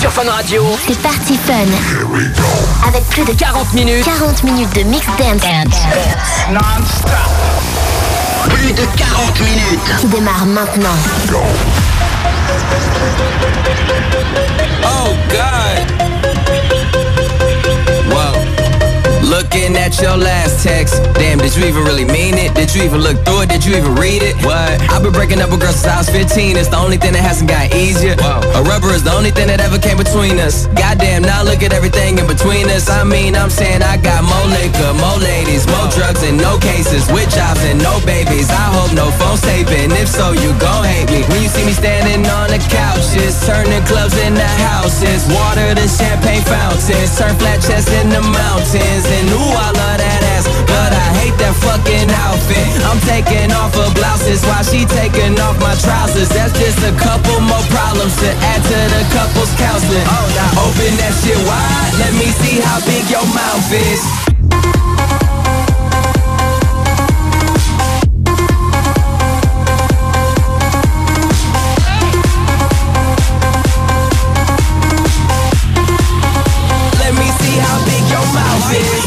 sur Fun Radio. C'est Party Fun. Avec plus de 40 minutes de mix dance. Non-stop. Plus de 40 minutes. Qui démarre maintenant. Oh God. Whoa. Looking at your last text. Damn, did you even really mean it? Did you even look through it? Did you even read it? What? I've been breaking up with girls since I was 15. It's the only thing that hasn't gotten easier. Whoa. A rubber is the only thing that ever came between us. Goddamn, now look at everything in between us. I'm saying I got more liquor, more ladies, more drugs and no cases. With jobs and no babies. I hope no phone's taping. If so, you gon' hate me. When you see me standing on the couches, turning clubs into houses. Water to champagne fountains. Turn flat chests into mountains. And ooh, I love that ass, but I hate that fucking outfit. I'm taking off her blouses while she taking off my trousers. That's just a couple more problems to add to the couple's counseling. Oh, now open that shit wide, let me see how big your mouth is. Let me see how big your mouth is.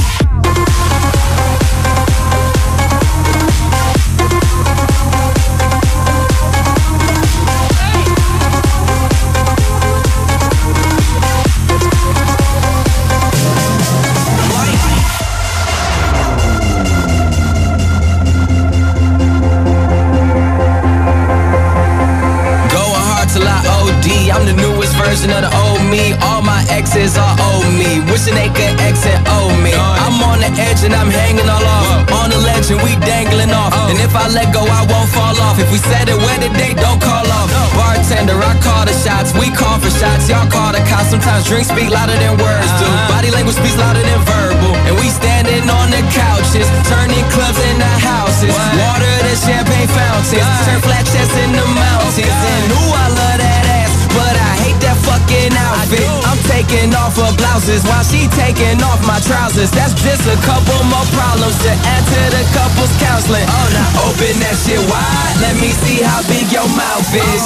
I'm the newest version of the old me. All my exes are old me. Wishing they could exit old me. I'm on the edge and I'm hanging all off. On the ledge and we dangling off. And if I let go, I won't fall off. If we set it where the date, don't call off. Bartender, I call the shots. We call for shots. Y'all call the cops. Sometimes drinks speak louder than words do. Body language speaks louder than verbal. And we standing on the couches, turning clubs into houses. Water to champagne fountains. Turn flat chests into mountains. And ooh, I love that ass, but I hate that fucking outfit. I'm taking off her blouses while she taking off my trousers. That's just a couple more problems to add to the couple's counseling. Oh, now open that shit wide, let me see how big your mouth is.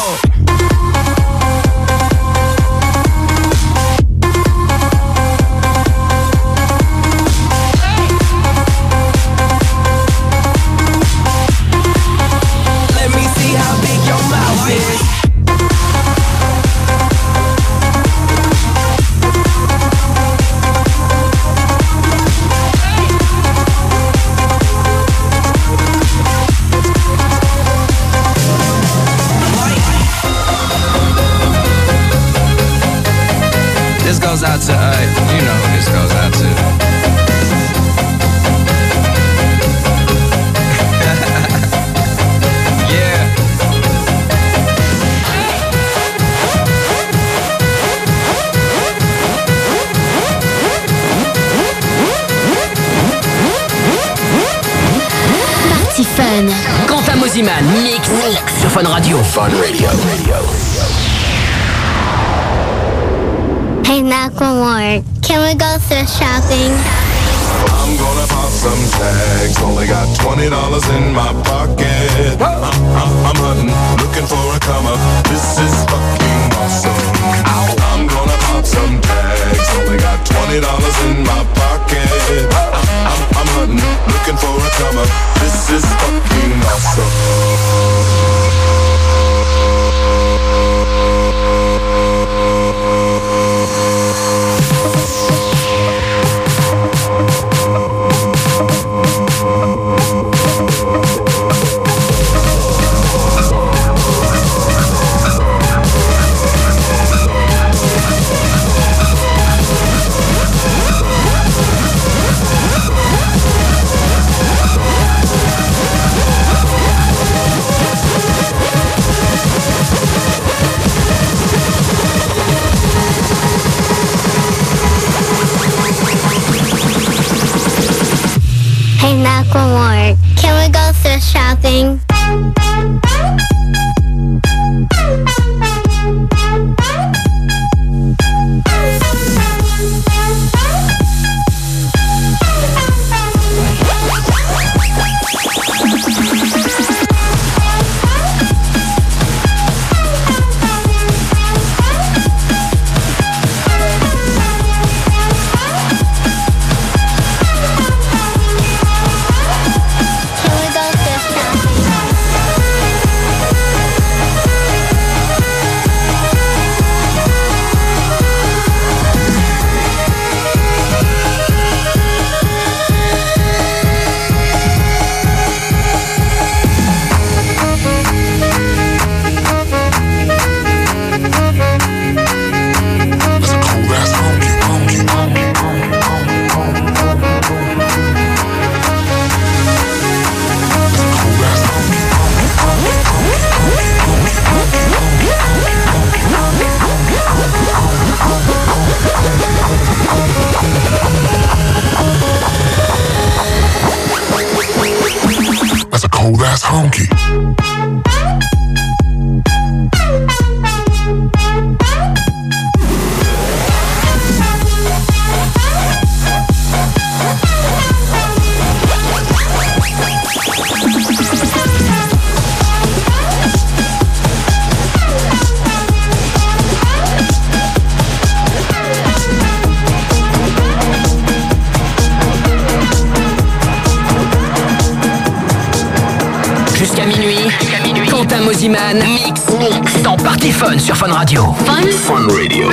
Let me see how big your mouth is. This goes out to, you know who this goes out to. Yeah. Party Fun. Quentin Mosiman, mix sur Fun Radio. Fun Radio. Hey, Macklemore, can we go thrift shopping? I'm gonna pop some tags. Only got $20 in my pocket. I'm hunting, looking for a come up. This is fucking awesome. I'm gonna pop some tags. Only got $20 in my pocket. I'm hunting, looking for a come up. This is fucking awesome. Hey, Macklemore, can we go thrift shopping? Funky. Jusqu'à minuit, Quentin Mosiman mix dans Party Fun sur Fun Radio. Fun Radio.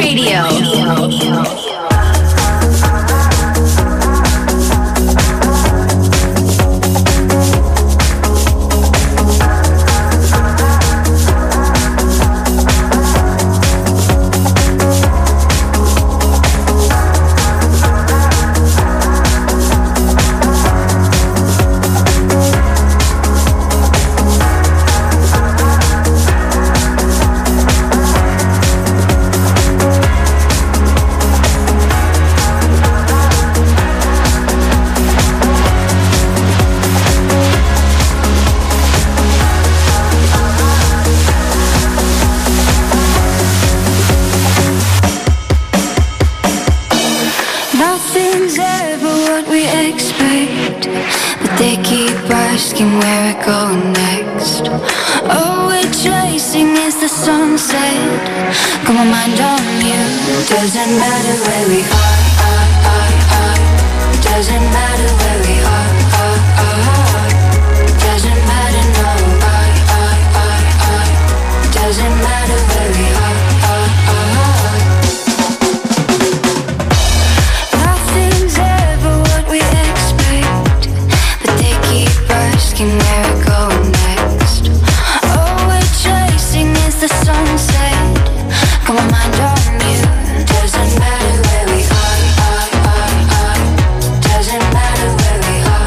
Nothing's ever what we expect, but they keep asking where we're going next. All we're chasing is the sunset. Got my mind on you. Doesn't matter where we are. Doesn't matter where we are. Doesn't matter, no. Doesn't matter where we are. Asking where we're going next. All we're chasing is the sunset. Got my mind on you. Doesn't matter where we are. Doesn't matter where we are.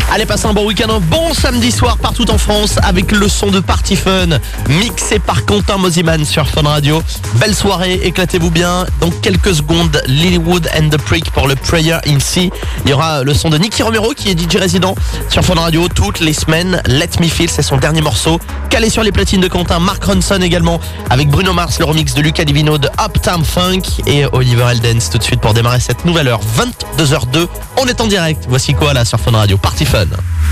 Allez, passez un bon week-end, un bon samedi soir partout en France avec le son de Party Fun mixé par Quentin Mosiman sur Fun Radio. Belle soirée, éclatez-vous bien. Dans quelques secondes, Lilywood and the Prick pour le Prayer in C. Il y aura le son de Nicky Romero qui est DJ résident sur Fun Radio toutes les semaines. Let Me Feel, c'est son dernier morceau. Calé sur les platines de Quentin, Mark Ronson également avec Bruno Mars, le remix de Luca Divino de Uptown Funk et Oliver Heldens tout de suite pour démarrer cette nouvelle heure. 22h02, on est en direct. Voici quoi là sur Fun Radio, Party Fun.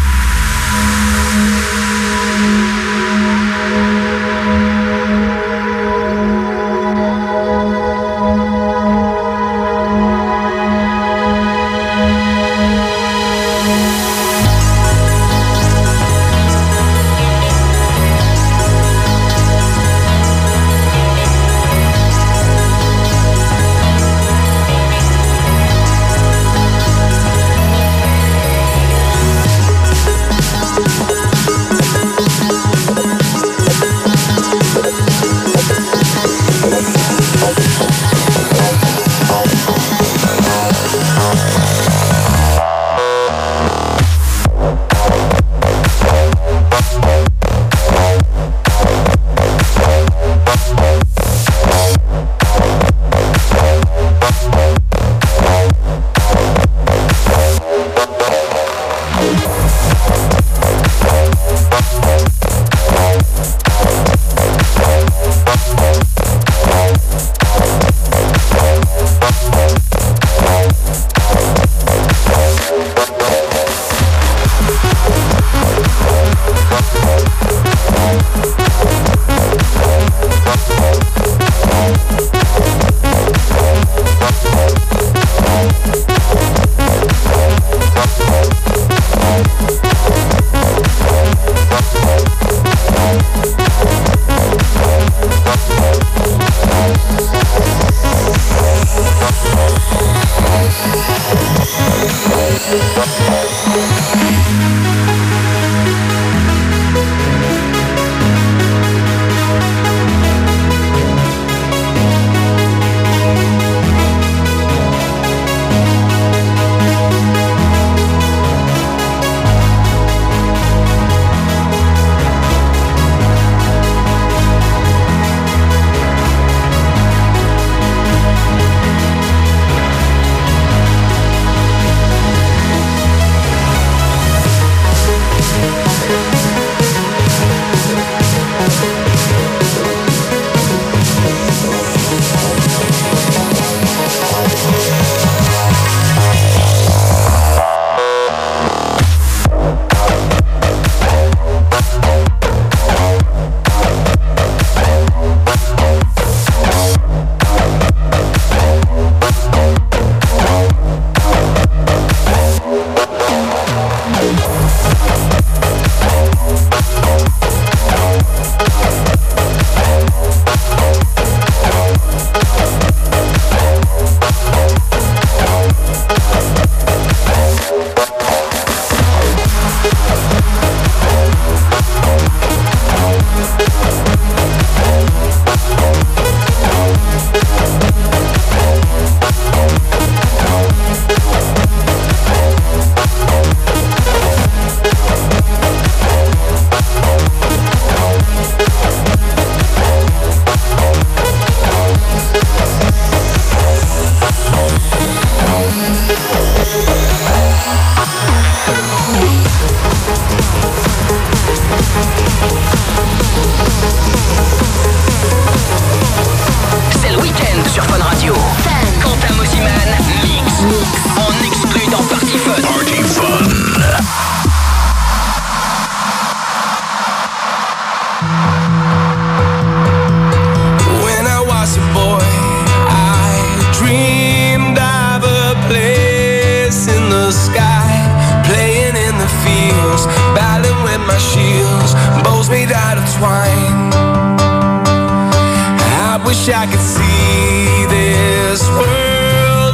I could see this world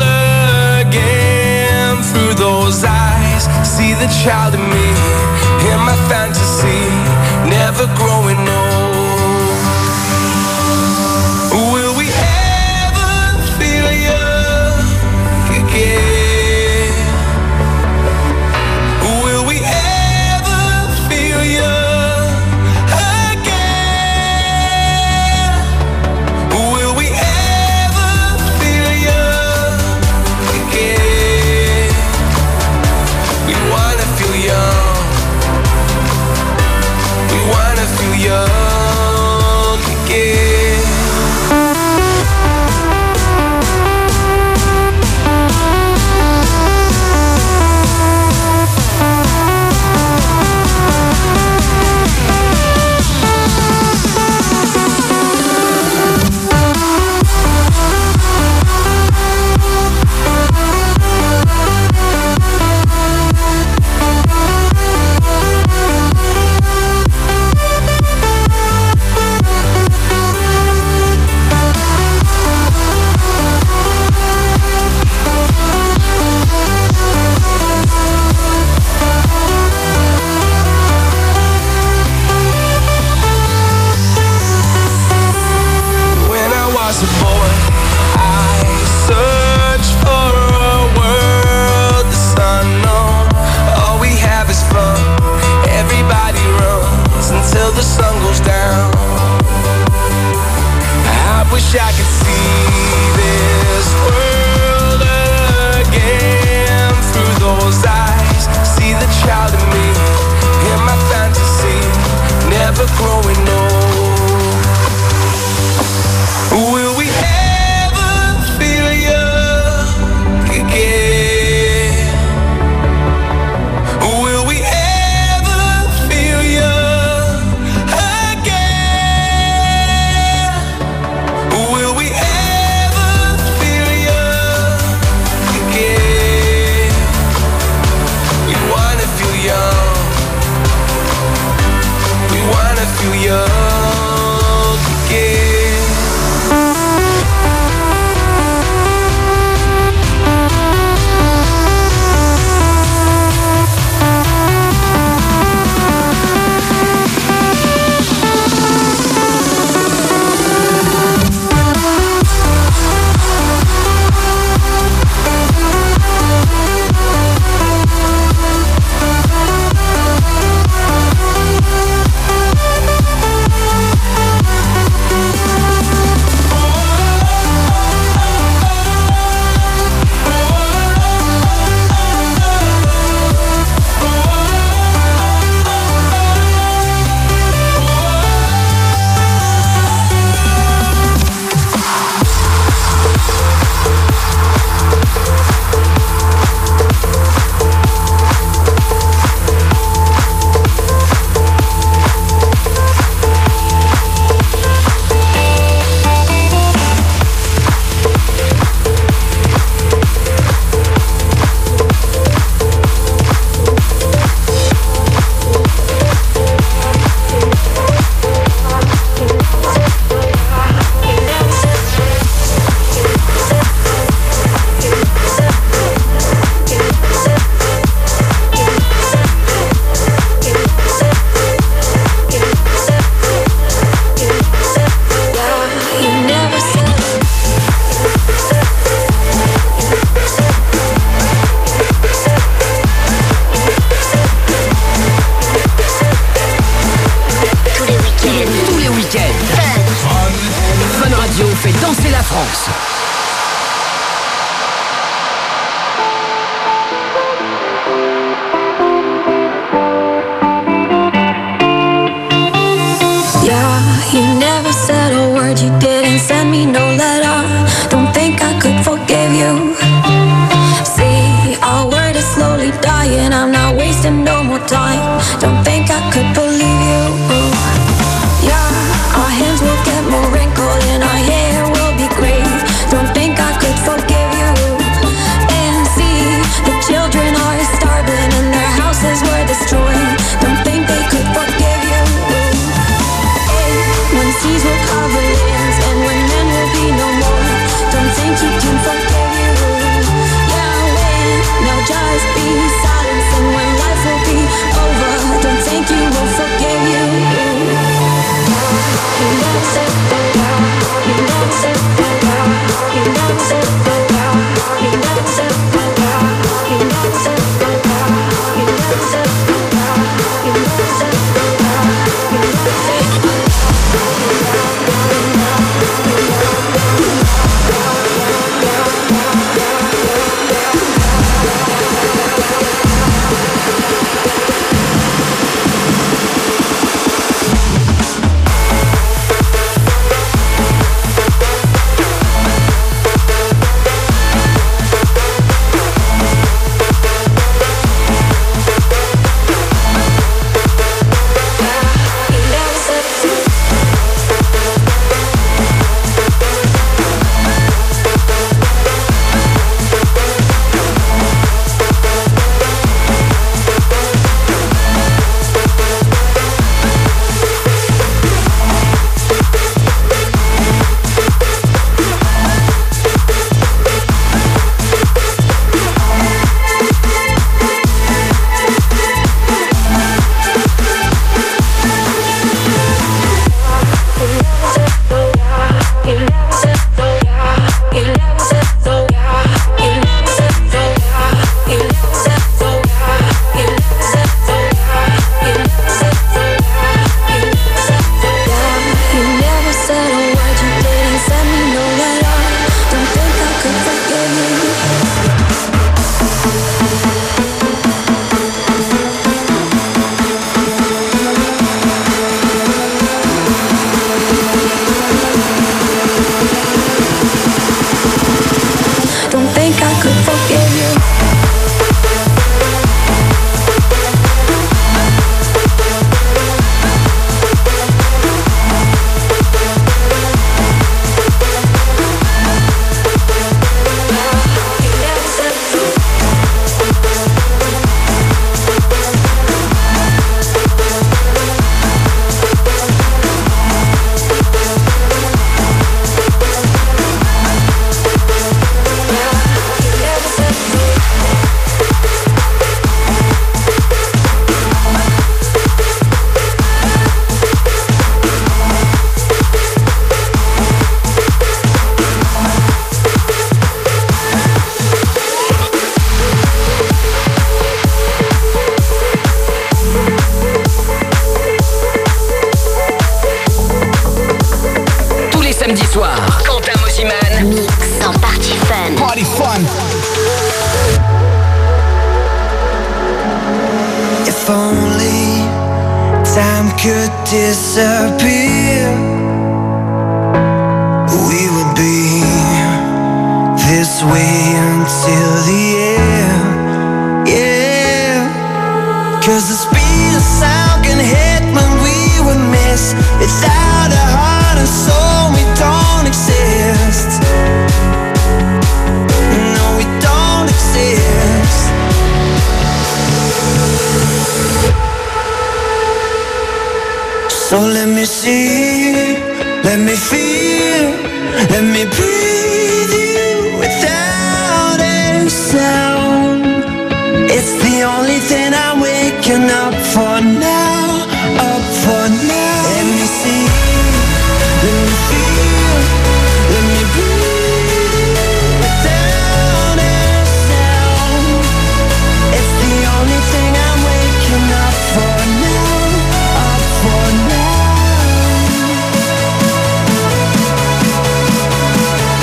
again through those eyes. See the child in me, in my fantasy, never growing old. Will we ever feel young again? Will we ever could disappear, we would be this way until the end, yeah. 'Cause the speed of sound can hit when we would miss. Without a heart and soul we don't exist. No, we don't exist. So let me see, let me feel, let me breathe you without a sound. It's the only thing I'm waking up for now, up for now. Let me see, let me feel, let me breathe without a sound. It's the only thing I'm waking up for now, up for now.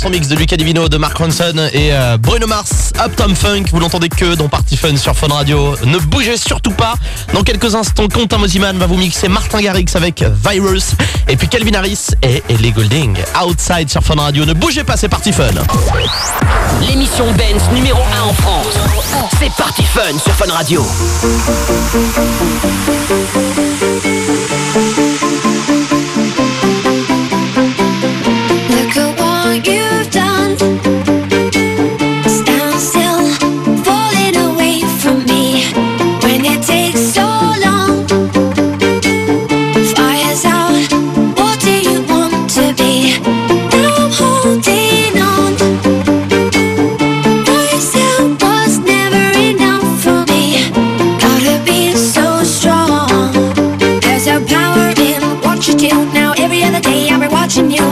son mix de Luca Divino, de Mark Ronson et Bruno Mars, Uptown Funk. Vous l'entendez que dans Party Fun sur Fun Radio. Ne bougez surtout pas. Dans quelques instants, Quentin Mosiman va vous mixer Martin Garrix avec Virus. Et puis Calvin Harris et Ellie Goulding, Outside sur Fun Radio. Ne bougez pas, c'est Party Fun. L'émission Dance numéro 1 en France. C'est Party Fun sur Fun Radio. Look at what you've done. Stand still, falling away from me. When it takes so long, fire's out. What do you want to be? Now I'm holding on. Myself was never enough for me. Gotta be so strong. There's a power in what you do. Now every other day I'll be watching you.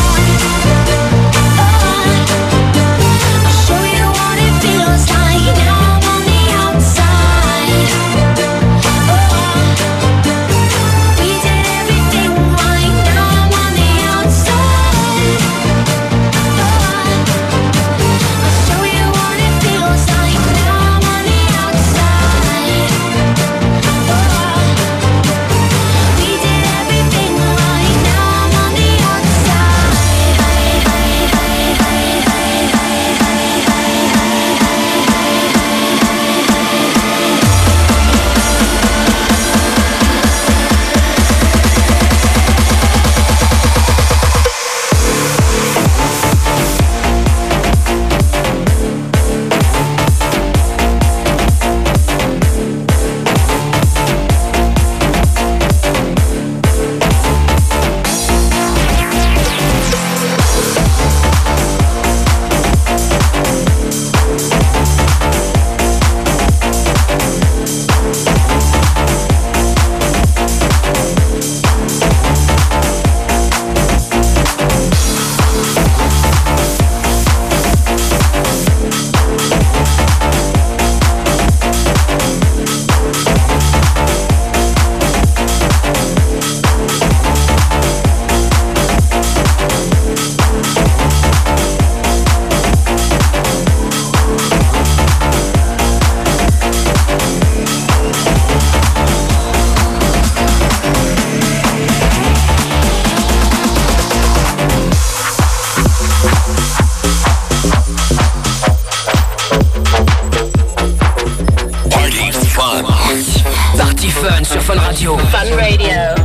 Party Fun sur Fun Radio. Fun Radio.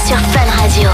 sur Fun Radio.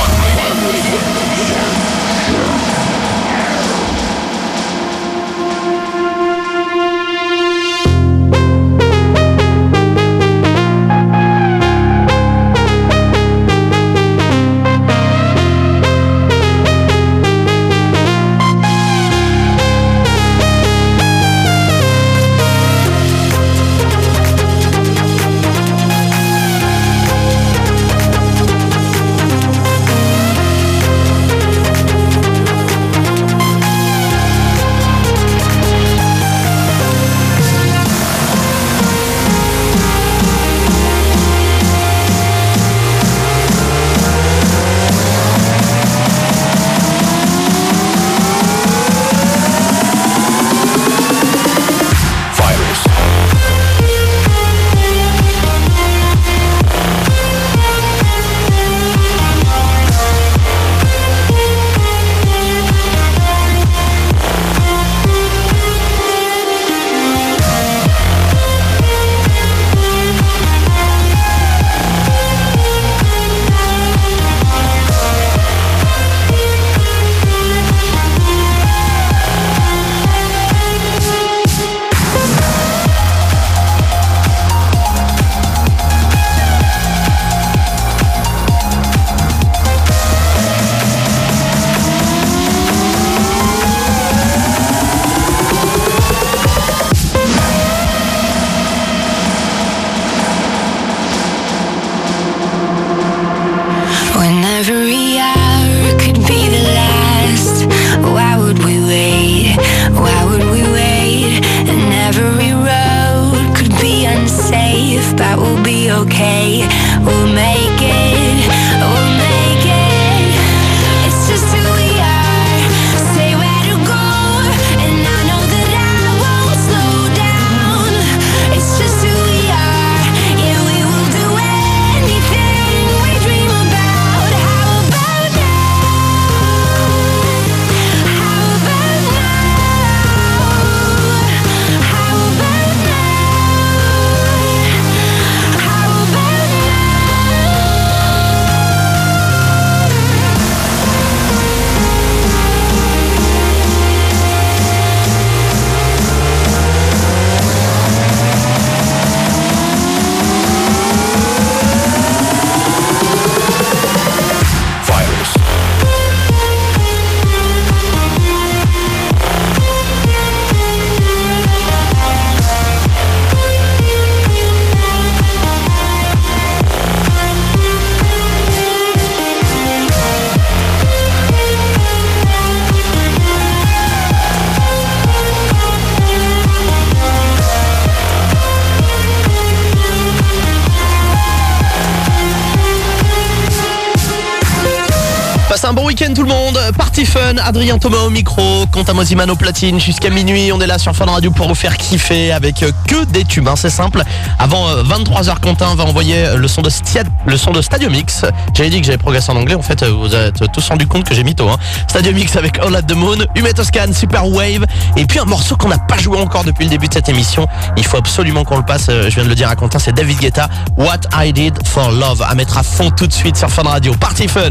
Un bon week-end tout le monde, Party Fun, Adrien Thomas au micro, Quentin Mosiman au platine, jusqu'à minuit on est là sur Fun Radio pour vous faire kiffer avec que des tubes, c'est simple. Avant 23h, Quentin va envoyer le son de Stadium X. J'avais dit que j'avais progressé en anglais, en fait vous êtes tous rendu compte que j'ai mytho. Stadium X avec All at the Moon, Humet Toscan, Super Wave, et puis un morceau qu'on n'a pas joué encore depuis le début de cette émission. Il faut absolument qu'on le passe, je viens de le dire à Quentin, c'est David Guetta, What I Did for Love, à mettre à fond tout de suite sur Fun Radio. Party Fun.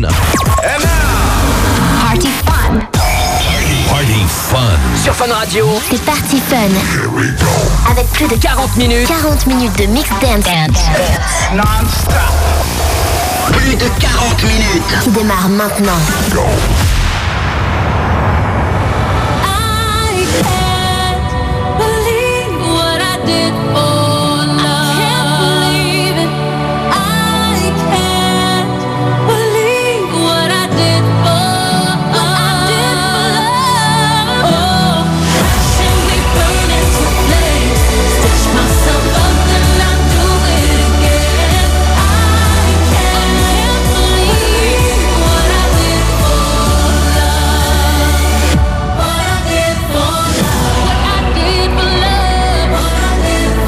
Party Fun. Party Fun. Sur Fun Radio. C'est Party Fun. Avec plus de 40 minutes. 40 minutes de mix dance. Non-stop. Plus de 40 minutes. Qui démarre maintenant. I can't believe what I did for love. I can't believe it. I can't believe what I did for love. Oh, passion we burn into flames. Stitch myself up and I do it again. I can't believe what I did for love. What I did for love. What I did for love. What I did for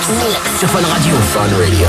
sur Fun Radio. Fun Radio.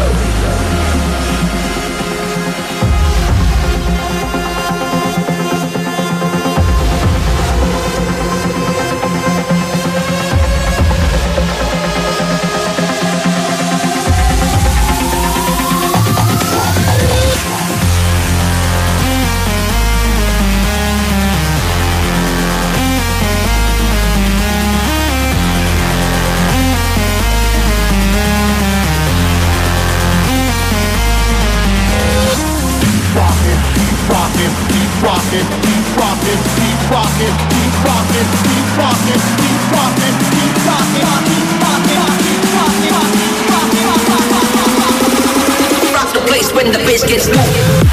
Rock the place when the bass gets moving.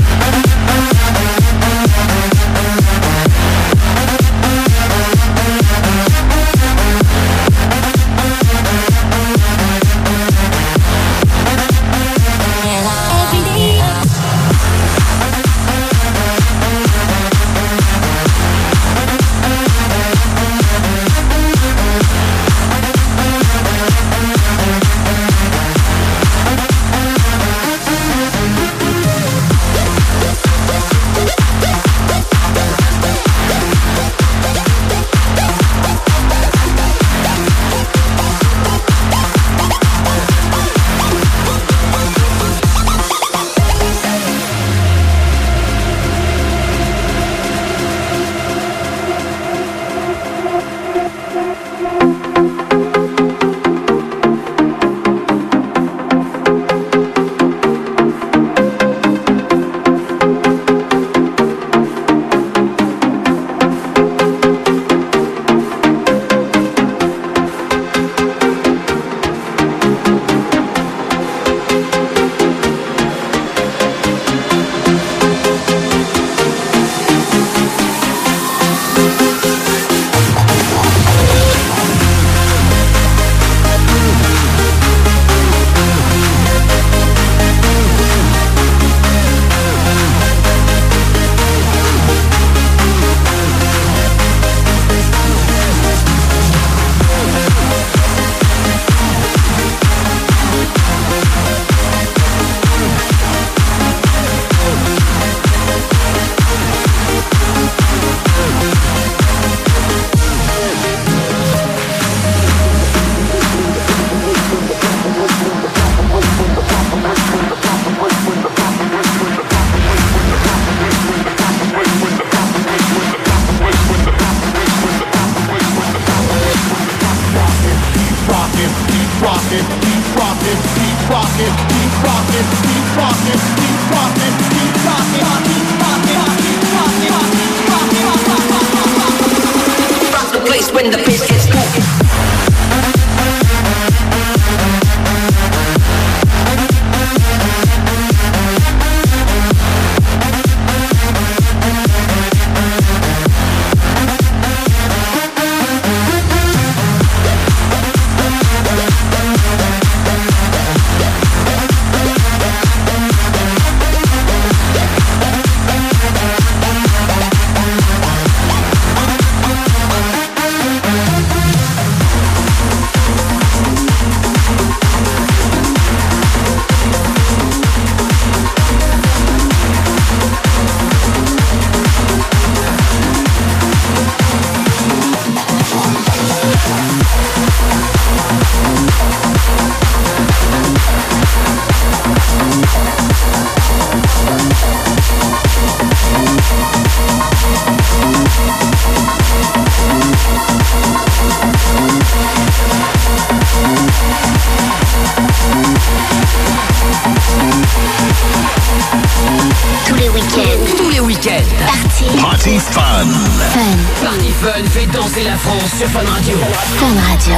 When the bass gets moving. Party Fun. Party Fun fait danser la France sur Fun Radio. Fun Radio.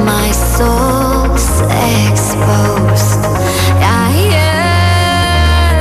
Exposed. I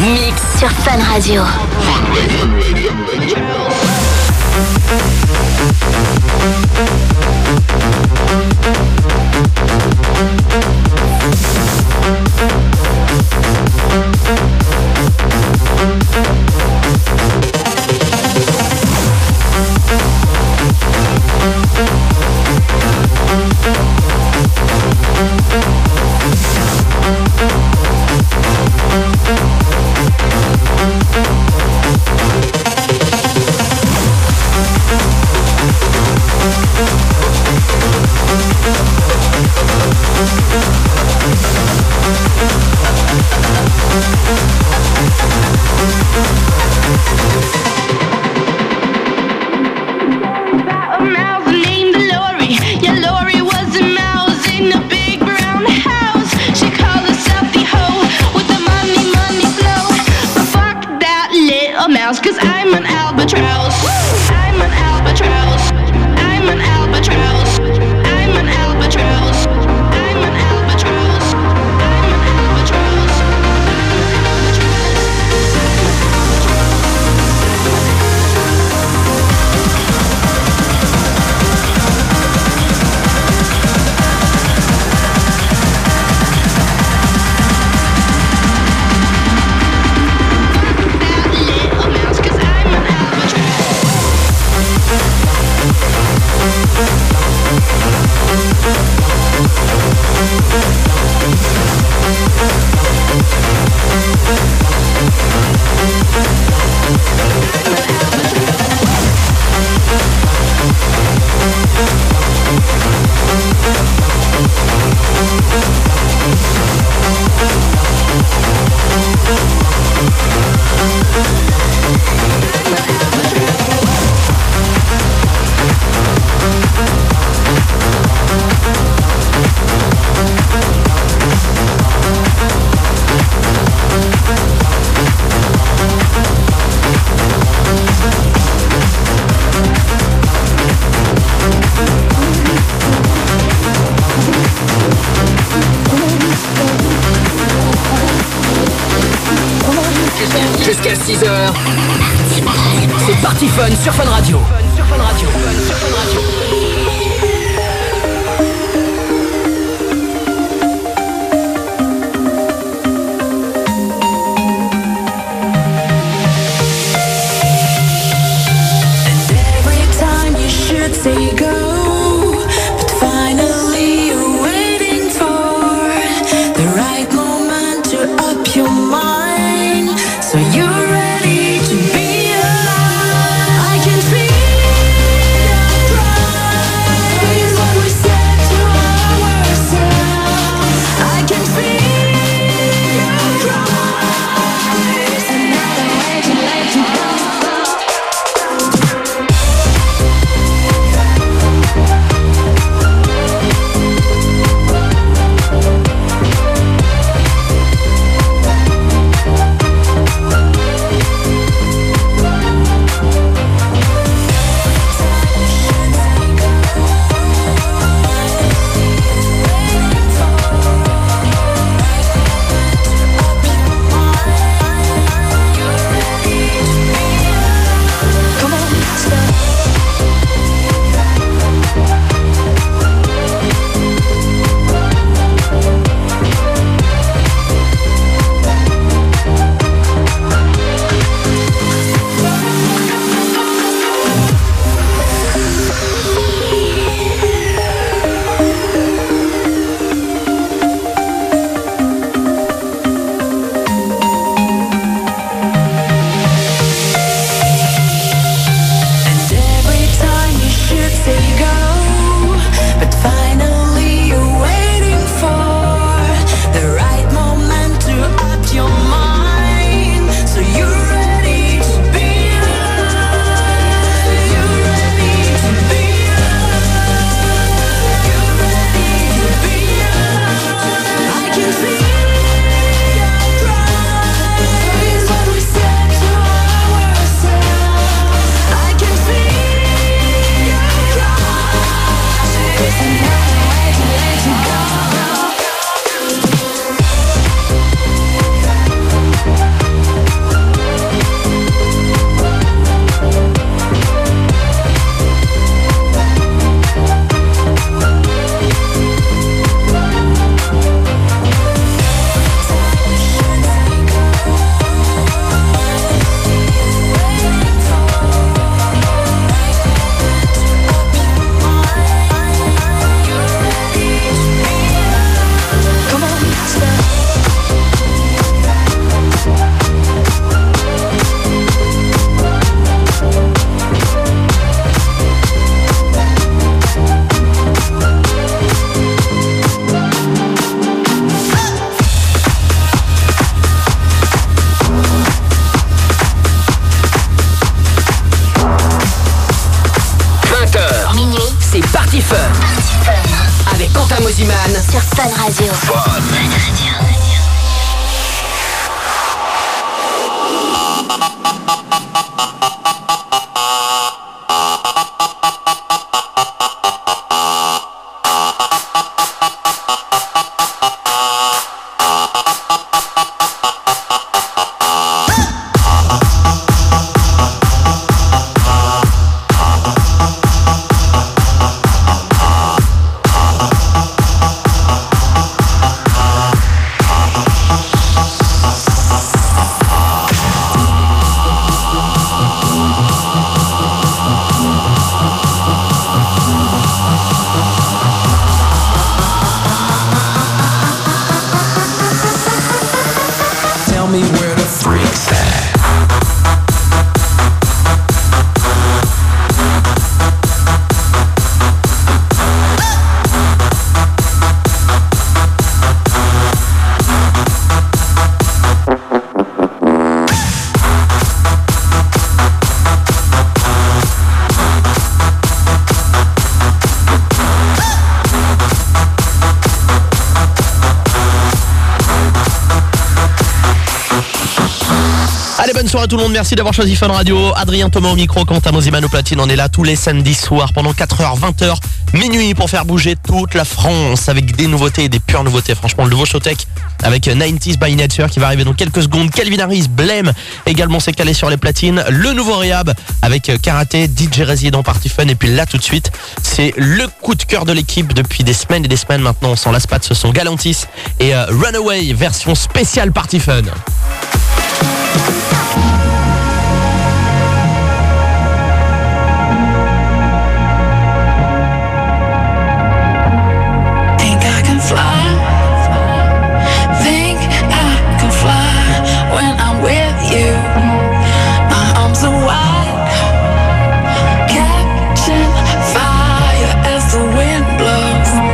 Mix sur Fun Radio. Cause I'm an albatross. I'm an albatross. I'm an albatross. I'm an albatross. I'm an albatross. I'm an albatross. Jusqu'à 6h. C'est Party Fun sur Fun Radio. Say go, but finally you're waiting for the right moment to up your mind, so you're ready to be alive. I can feel the Fun Radio. Allez, bonne soirée à tout le monde, merci d'avoir choisi Fun Radio. Adrien Thomas au micro, Quentin Mosiman au platine. On est là tous les samedis soirs pendant 4h, 20h, minuit pour faire bouger toute la France avec des nouveautés et des pures nouveautés. Franchement, le nouveau Showtech avec 90s by Nature qui va arriver dans quelques secondes. Calvin Harris, Blame également s'est calé sur les platines. Le nouveau Rehab avec Karaté, DJ Resident, Party Fun. Et puis là tout de suite, c'est le coup de cœur de l'équipe depuis des semaines et des semaines maintenant. On s'en lasse pas, ce sont Galantis et Runaway version spéciale Party Fun.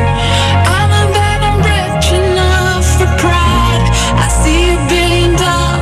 $1 billion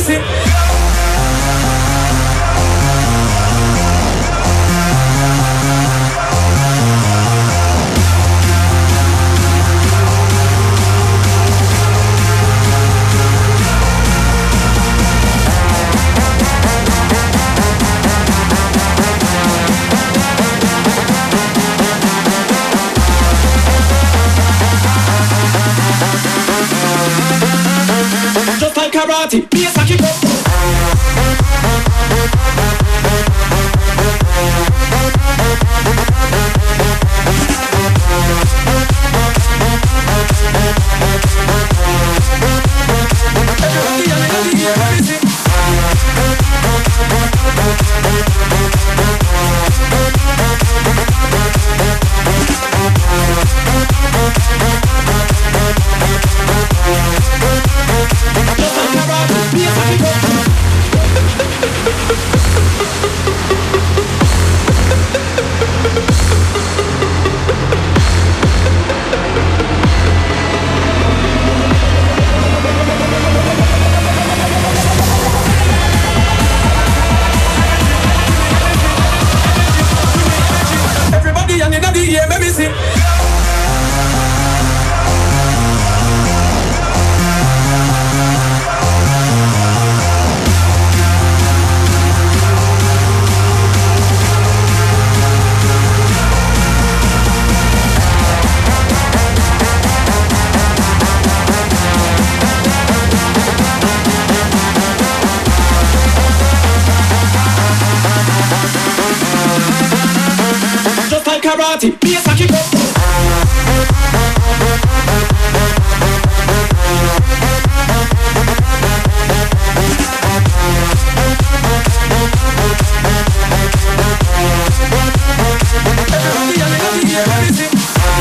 see. Just like karate, be a saki go. Everybody and in the air, let me see. Just like karate, be a saki go. Everybody and in the air, let me see.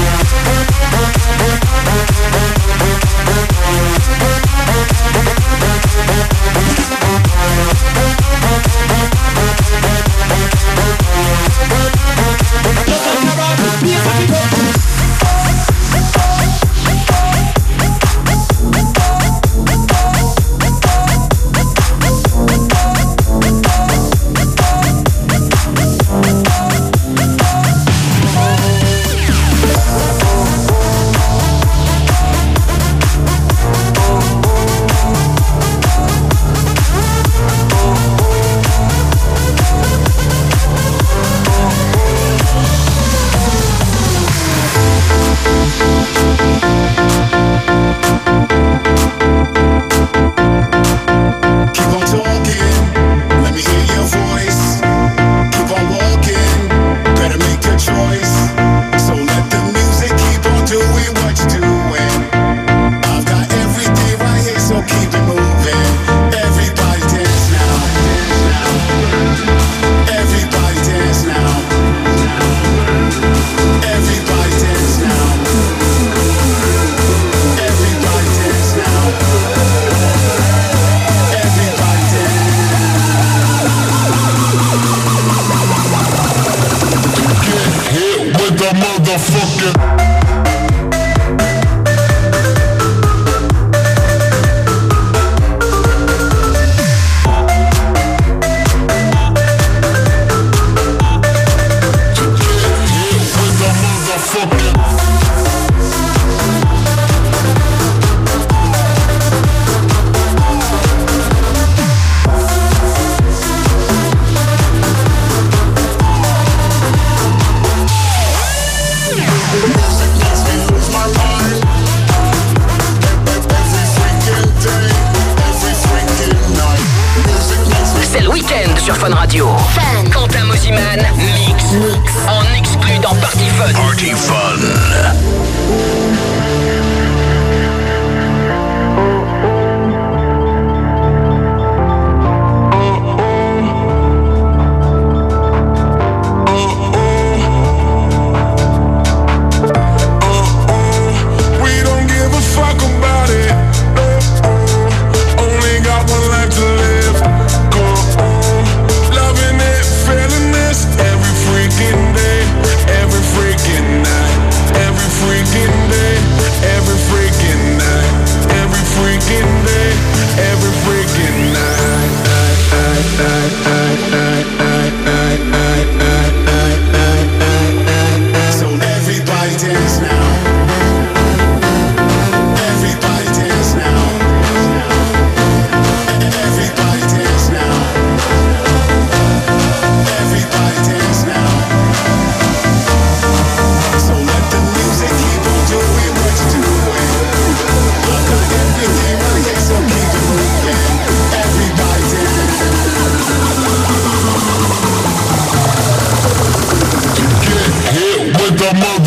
sur Fun Radio. Fun. Quentin Mosiman, mix. En exclu dans Party Fun. Party Fun. Every freaking day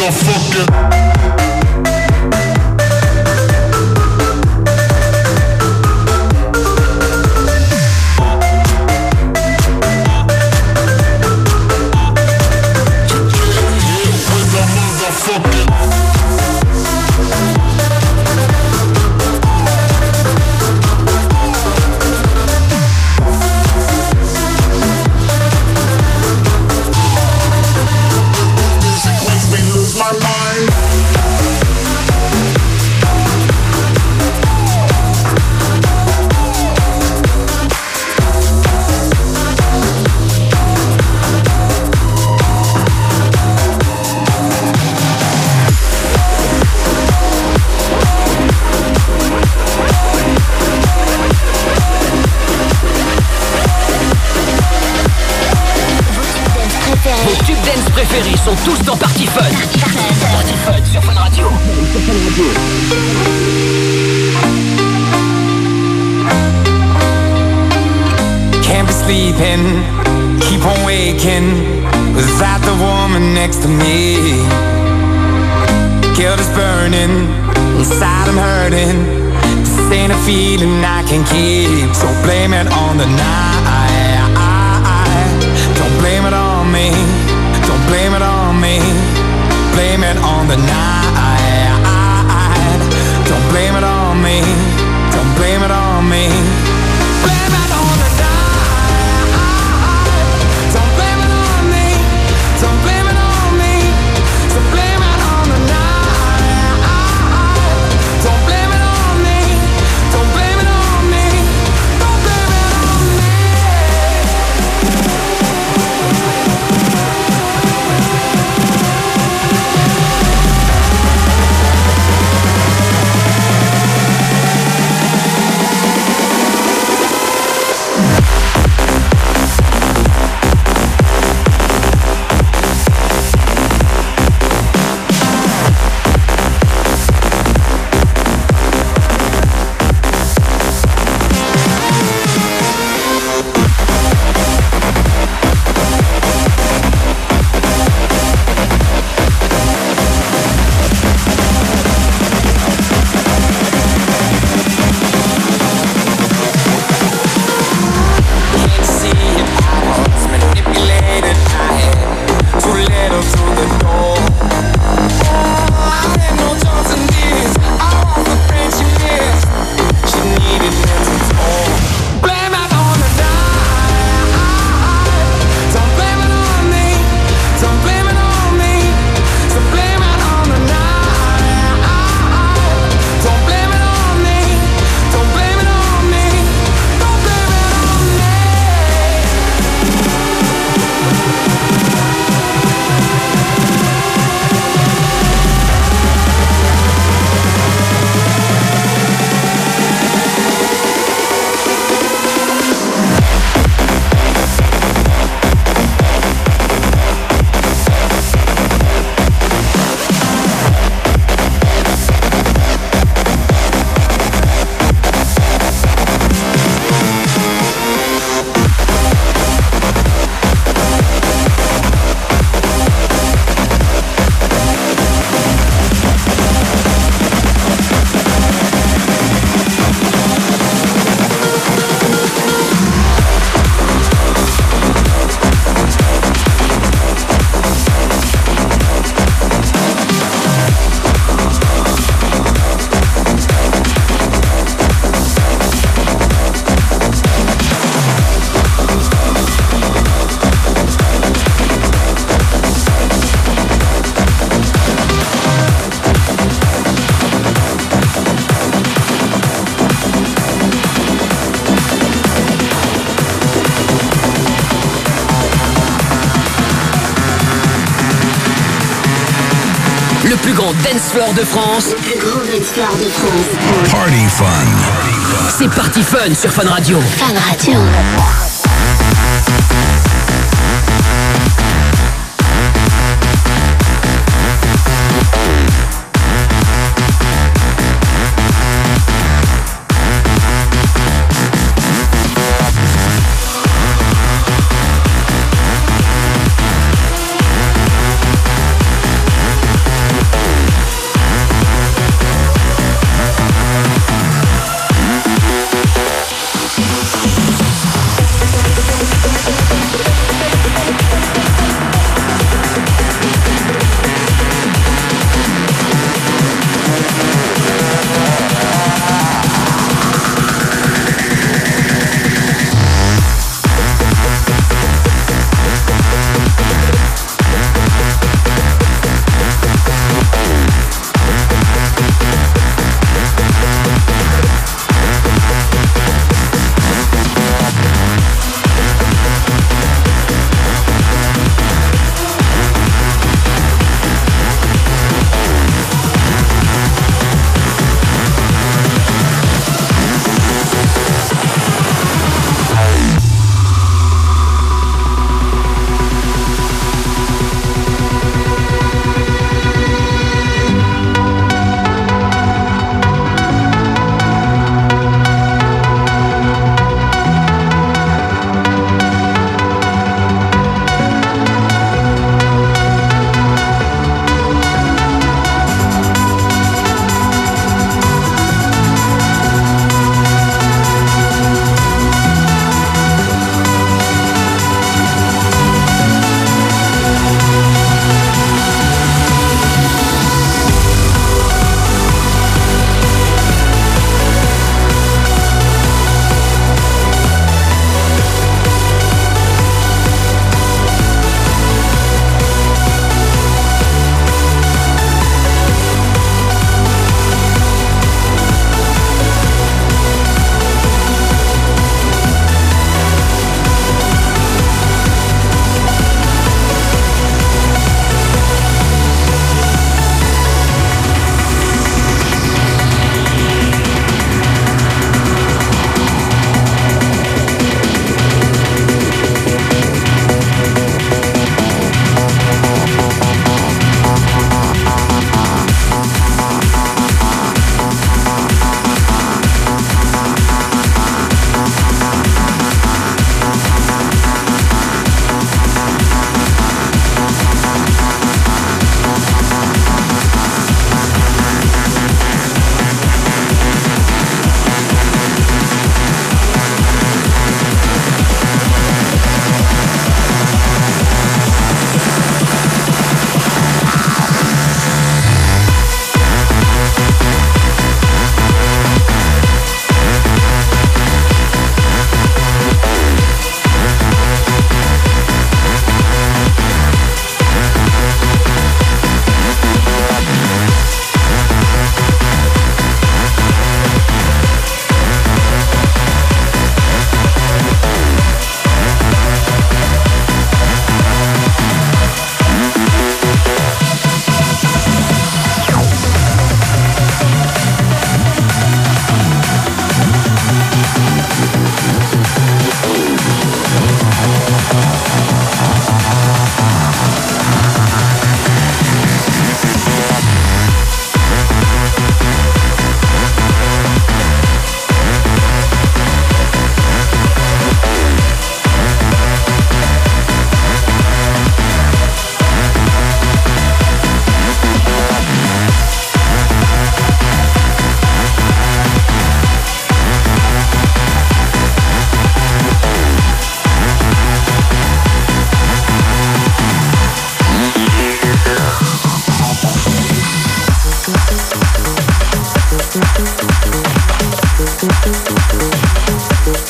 préférés sont tous dans Party Fun. Party Fun sur Fun Radio. Can't be sleeping, keep on waking without the woman next to me. Guilt is burning, inside I'm hurting. This ain't a feeling I can keep, so blame it on the night. Don't blame it on me, don't blame it on me. Blame it on the night. Don't blame it on me, don't blame it on me. Blame it on the night. Don't blame it on me, don't blame it on me. So blame it on the night. Don't blame it on me, don't blame it on me. Don't blame it on me. Le plus grand dance floor de France. Le plus grand dance floor de France. Party Fun. C'est Party Fun sur Fun Radio. Fun Radio.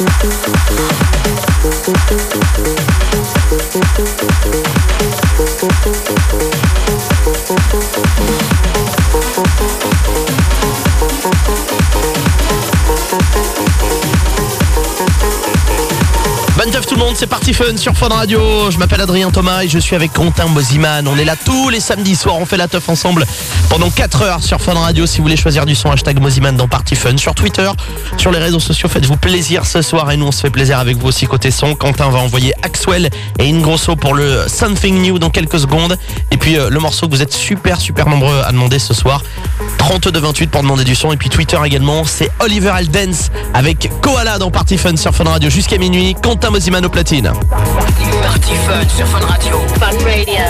Bonne teuf tout le monde, c'est Party Fun sur Fun Radio. Je m'appelle Adrien Thomas et je suis avec Quentin Mosiman. On est là tous les samedis soirs, on fait la teuf ensemble pendant 4 heures sur Fun Radio. Si vous voulez choisir du son, hashtag Mosiman dans Party Fun. Sur Twitter, sur les réseaux sociaux, faites-vous plaisir ce soir et nous on se fait plaisir avec vous aussi côté son. Quentin va envoyer Axwell et Ingrosso pour le Something New dans quelques secondes. Et puis le morceau que vous êtes super nombreux à demander ce soir, 32-28 pour demander du son. Et puis Twitter également, c'est Oliver Aldens avec Koala dans Party Fun sur Fun Radio jusqu'à minuit. Quentin Mosiman au platine. Party Fun sur Fun Radio. Fun Radio.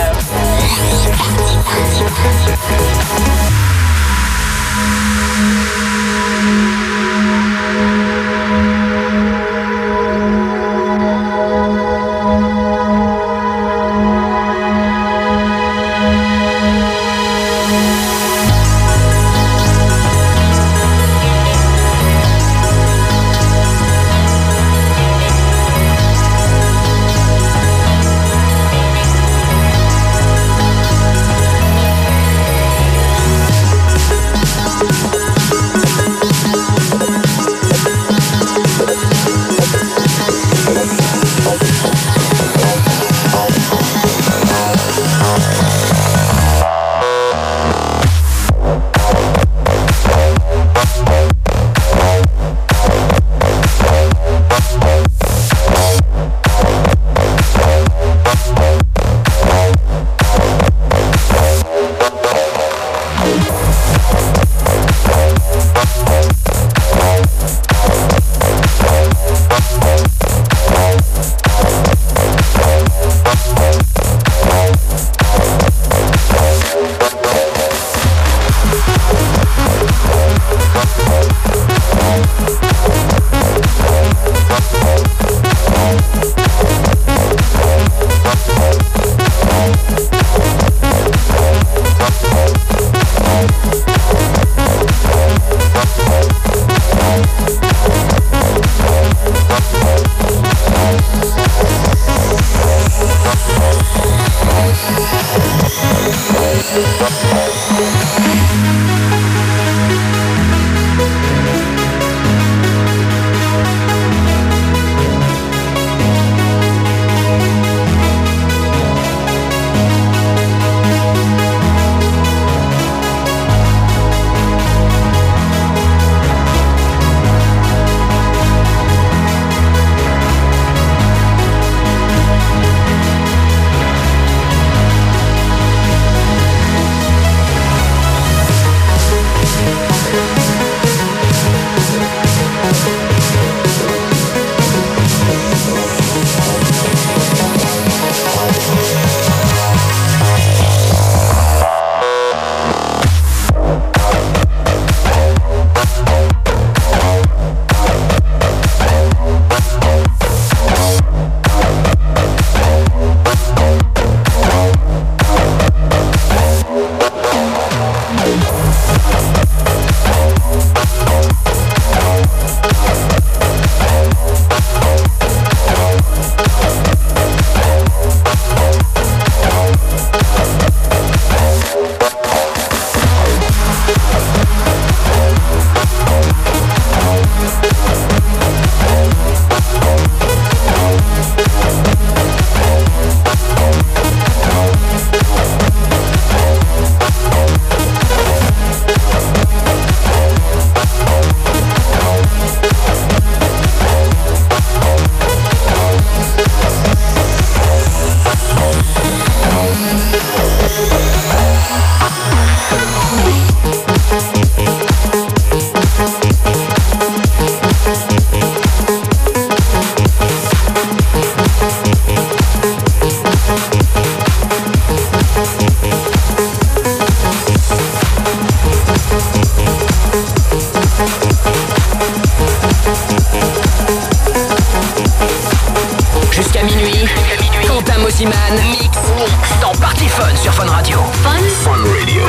Mosiman mix dans Party Fun sur Fun Radio. Fun Radio.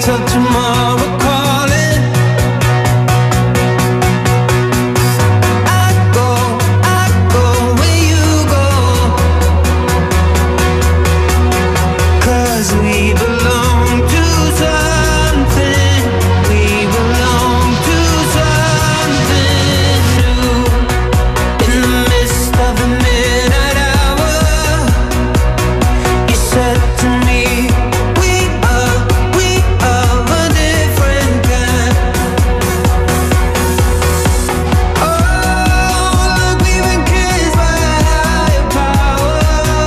till tomorrow calling. I go where you go, 'cause we belong to something. We belong to something new. In the midst of the midnight hour, you said to me, we are a different kind. Oh, like we've been kissed by a higher power,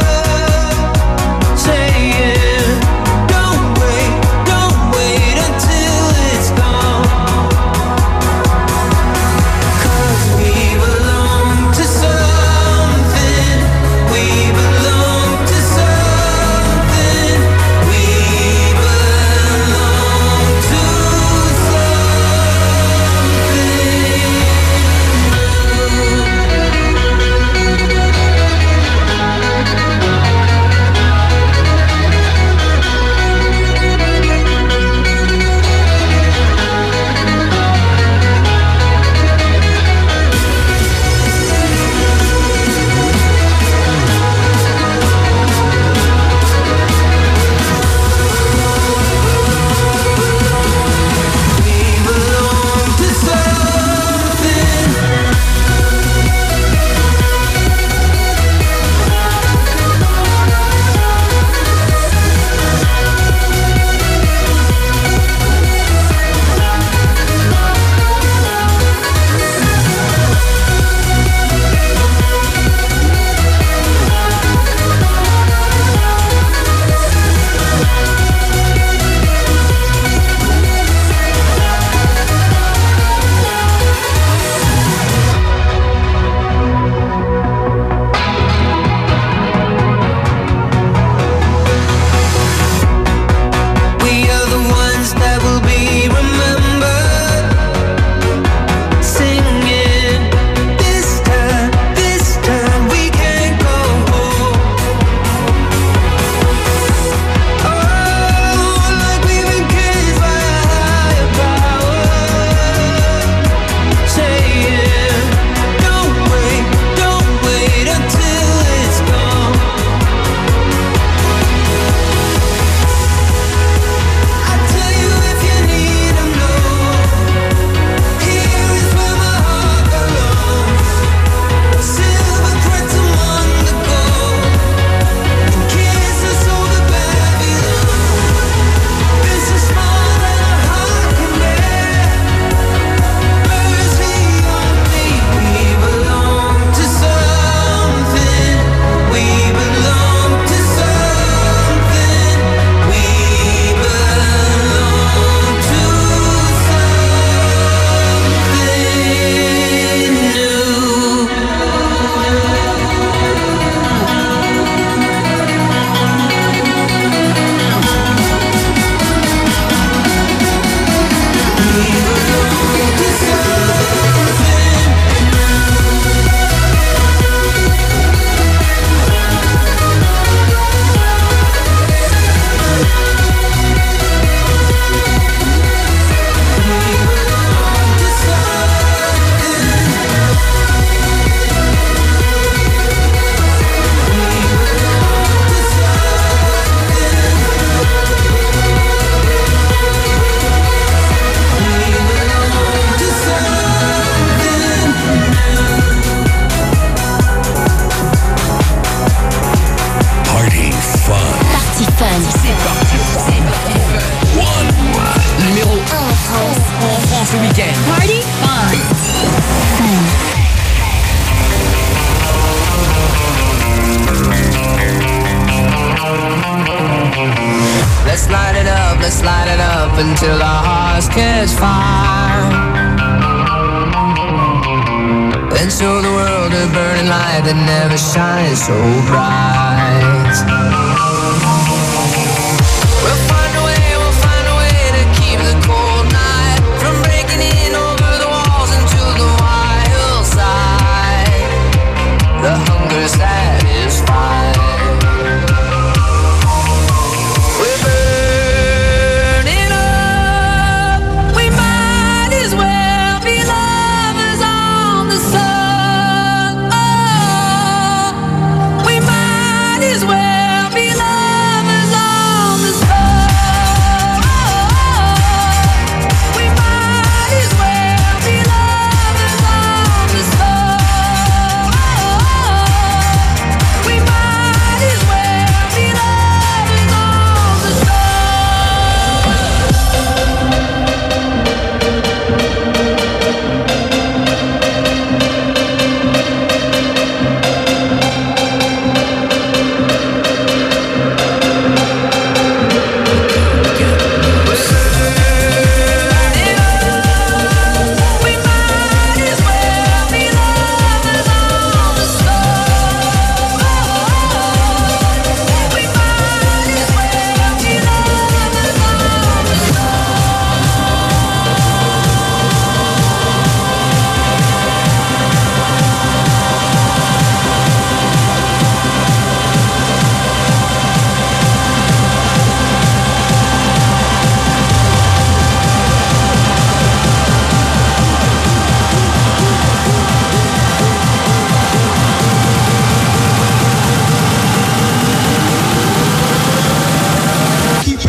saying, don't wait until it's gone. 'Cause we belong to something. We belong to something. We belong to we are the ones that will be remembered, singing, this time we can't go home. Oh, like we've been kissed by a higher power, saying, don't wait until it's gone. I tell you if you need to know, here is where my heart belongs. Silver threads among the gold, and kisses over Babylon. This is more than a heart can bear. Mercy on me. We belong to something. We belong to something. We belong to something new. Party fun. Party Fun. Numéro 1 en France ce week-end. Party Fun. Let's light it up until our hearts catch fire. Then show the world a burning light that never shines so bright. We'll find a way to keep the cold night from breaking in over the walls into the wild side. The hunger satisfied. We're burning up.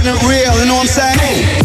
Keeping it real, you know what I'm saying?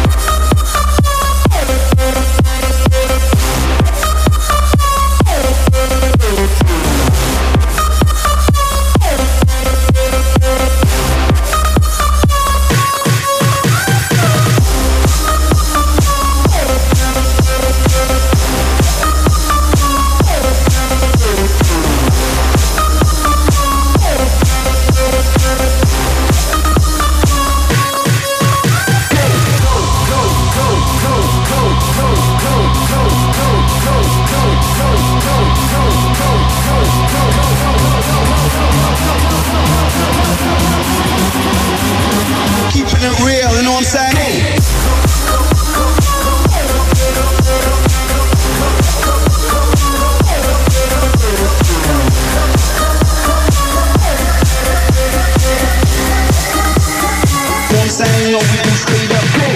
Keeping it real, you know what I'm saying? You know what I'm saying? Yo, we can straight up go.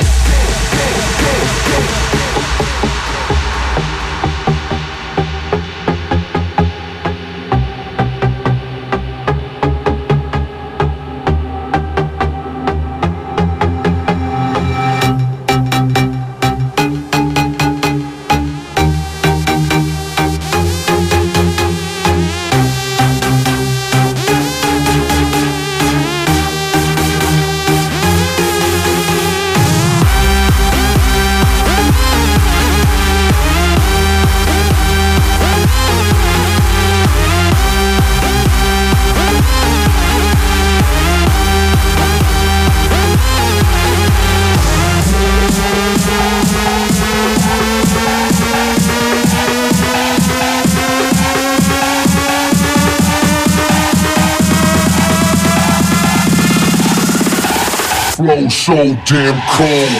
Flow so damn cold.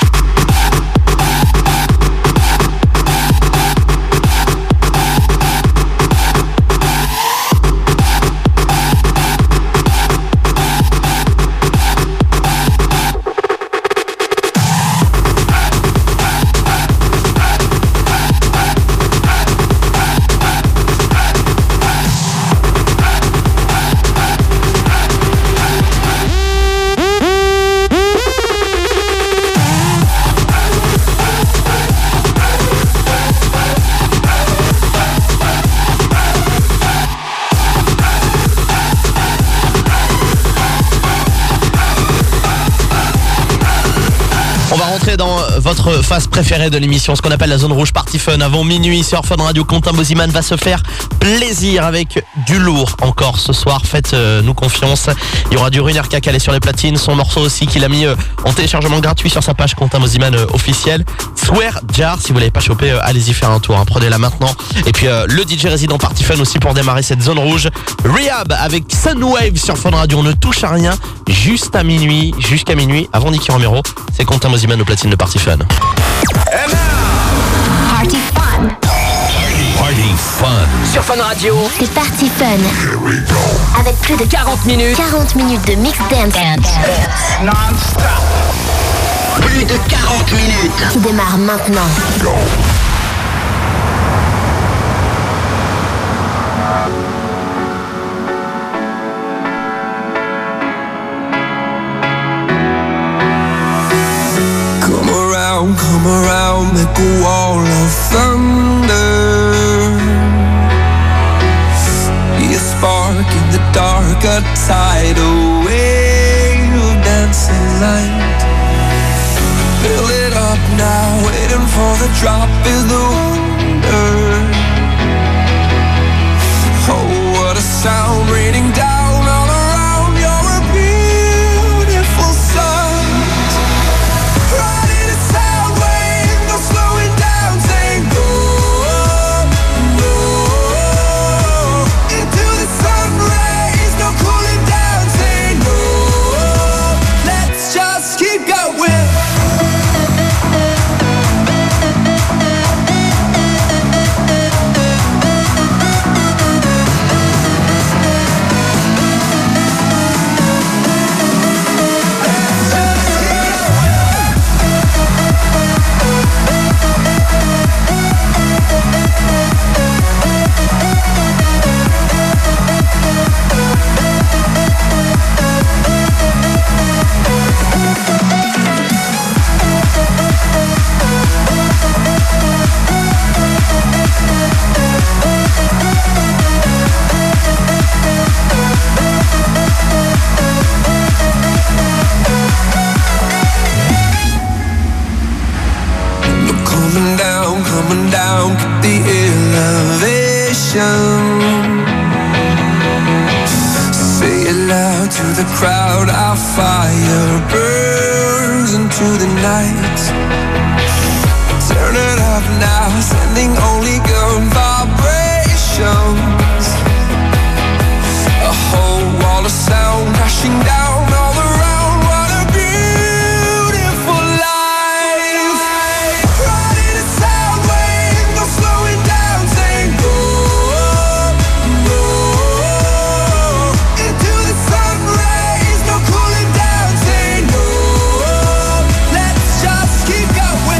Dans votre phase préférée de l'émission, ce qu'on appelle la zone rouge Party Fun. Avant minuit sur Fun Radio, Quentin Mosiman va se faire plaisir avec du lourd encore ce soir. Faites-nous confiance. Il y aura du Runerka calé sur les platines. Son morceau aussi qu'il a mis en téléchargement gratuit sur sa page Quentin Mosiman officielle. Swear Jar, si vous l'avez pas chopé, allez-y faire un tour. Prenez-la maintenant. Et puis le DJ résident Party Fun aussi pour démarrer cette zone rouge. Rehab avec Sunwave sur Fun Radio. On ne touche à rien jusqu'à minuit. Avant Nicky Romero, c'est Quentin Mosiman au platine de Party Fun. Party Fun. Party Fun. Sur Fun Radio, C'est Party Fun. Avec plus de 40 minutes. 40 minutes de mix dance. Plus de 40 minutes. Qui démarre maintenant. Come around, make a wall of thunder. Be a spark in the dark, a tidal wave of dancing light. Fill it up now, waiting for the drop is the wonder. Oh, what a sound raining down all around. You're a beautiful sight. Keep going. out, our fire burns into the night. Turn it up now, sending only good vibrations. A whole wall of sound crashing down all around. What a beautiful life. Riding a sound wave, no slowing down, saying go, go. Into the sun rays, no cooling down, saying no. Let's just keep going.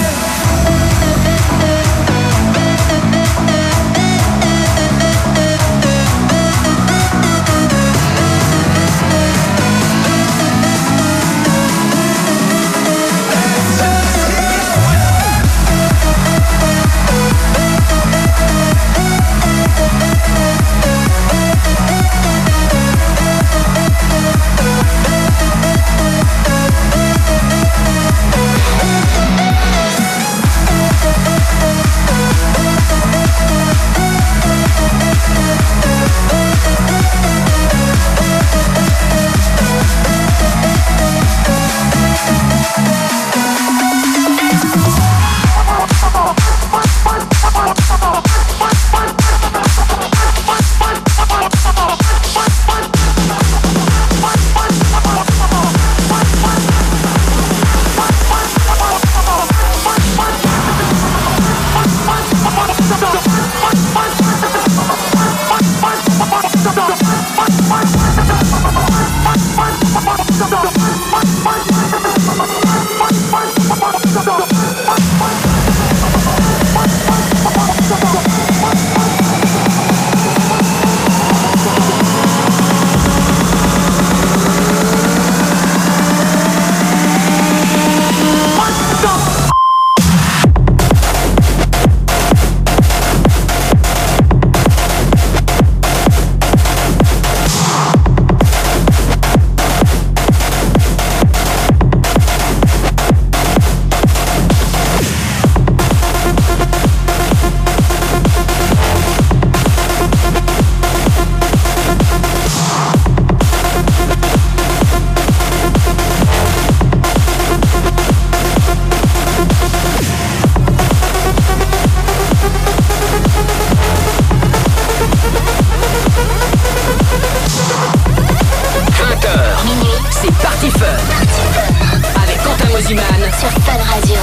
Sur Fun Radio.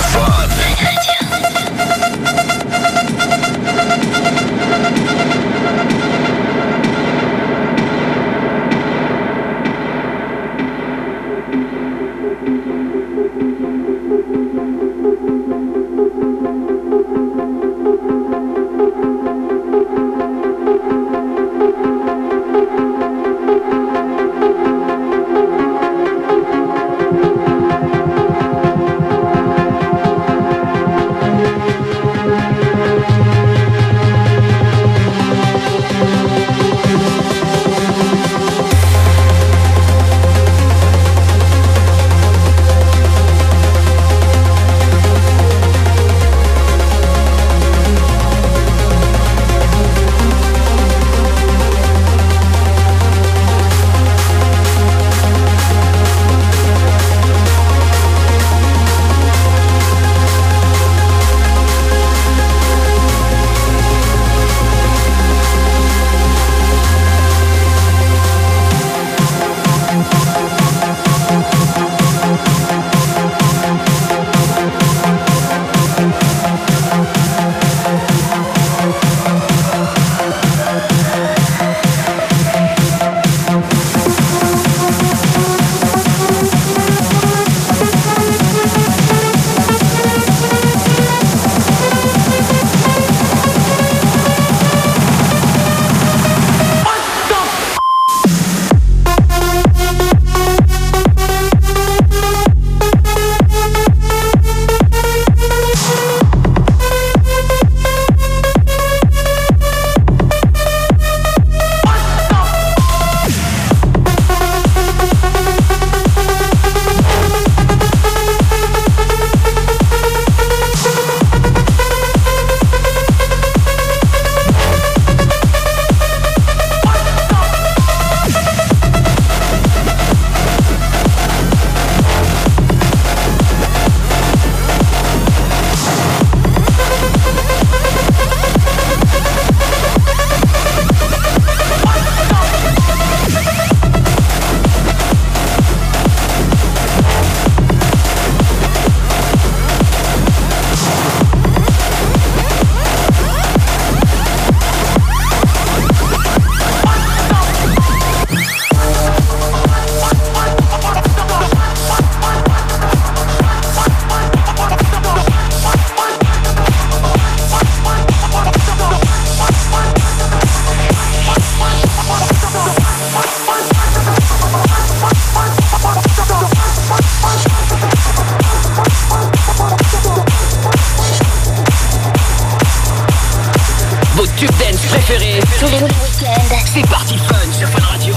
Tous les week-ends. C'est Party Fun sur Fun Radio.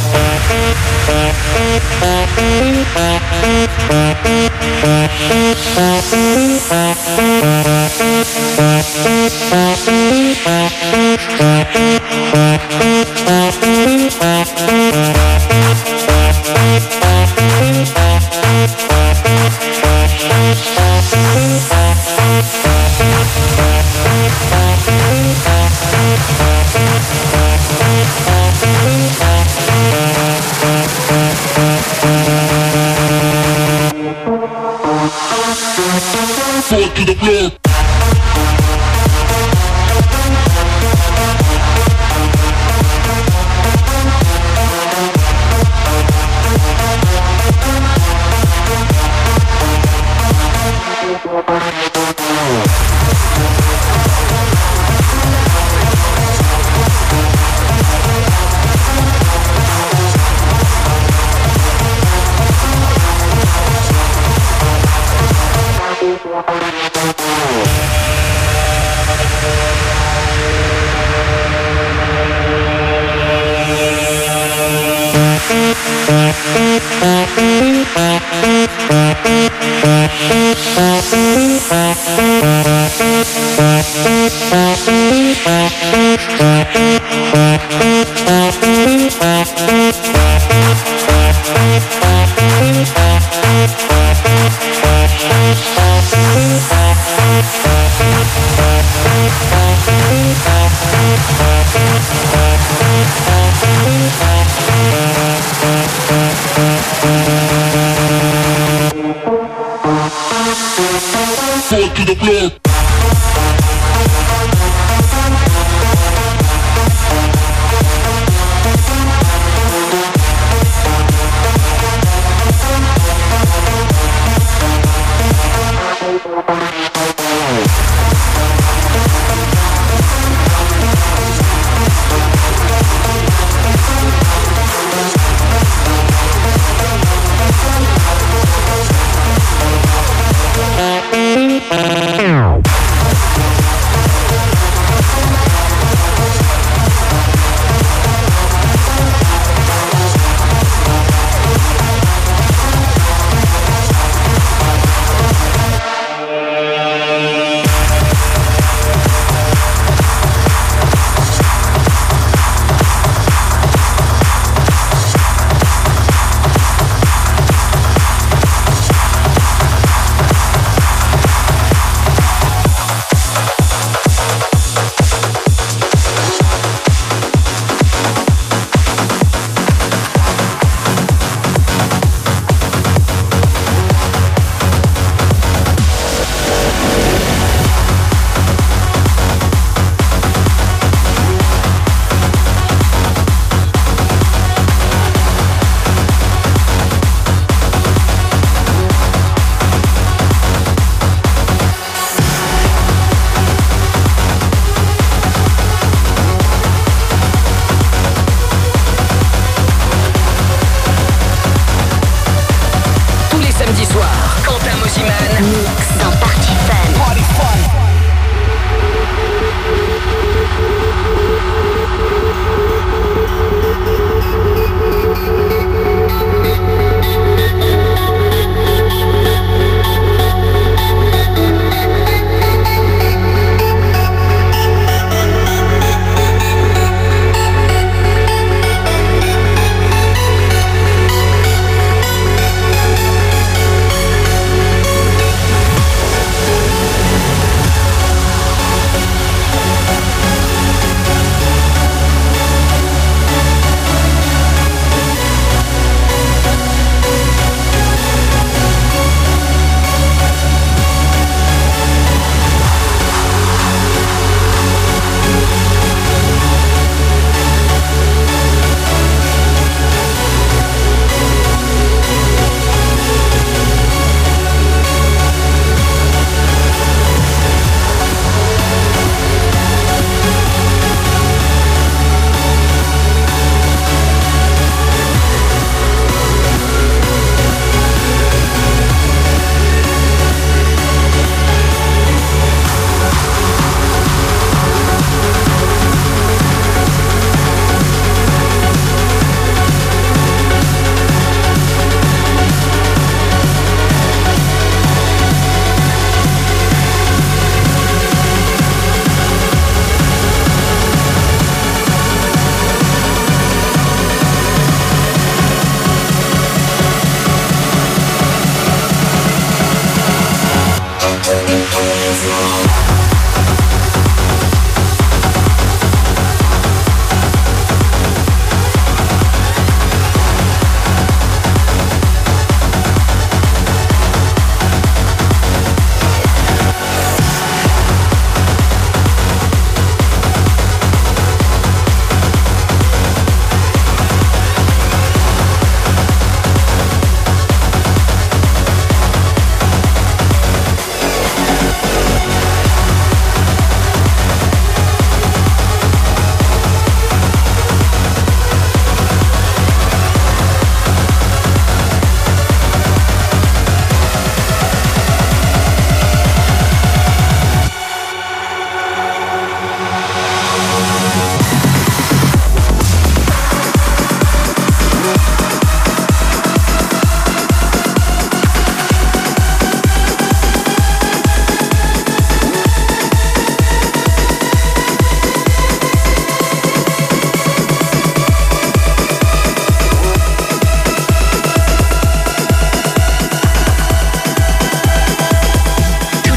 Foot to the floor. Foot to the floor.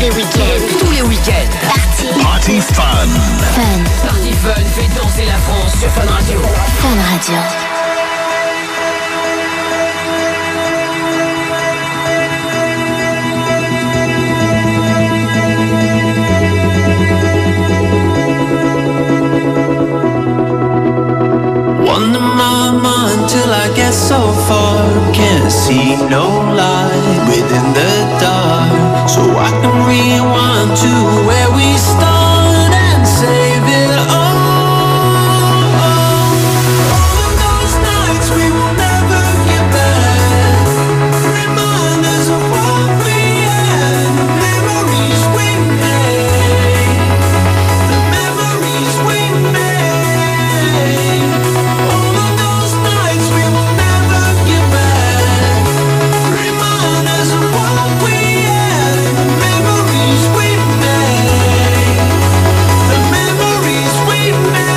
les week-ends. Tous les week-ends. Party Fun. Party Fun fait danser la France sur Fun Radio. Fun Radio. Wonder my mind till I get so far. Can't see no light within the dark. So I can rewind to where we start and save it all. All of those nights we will never get back. Remind us of what we had, the memories we made, the memories we made. All of those nights we will never get back. Remind us of what we had, the memories we made, the memories we made.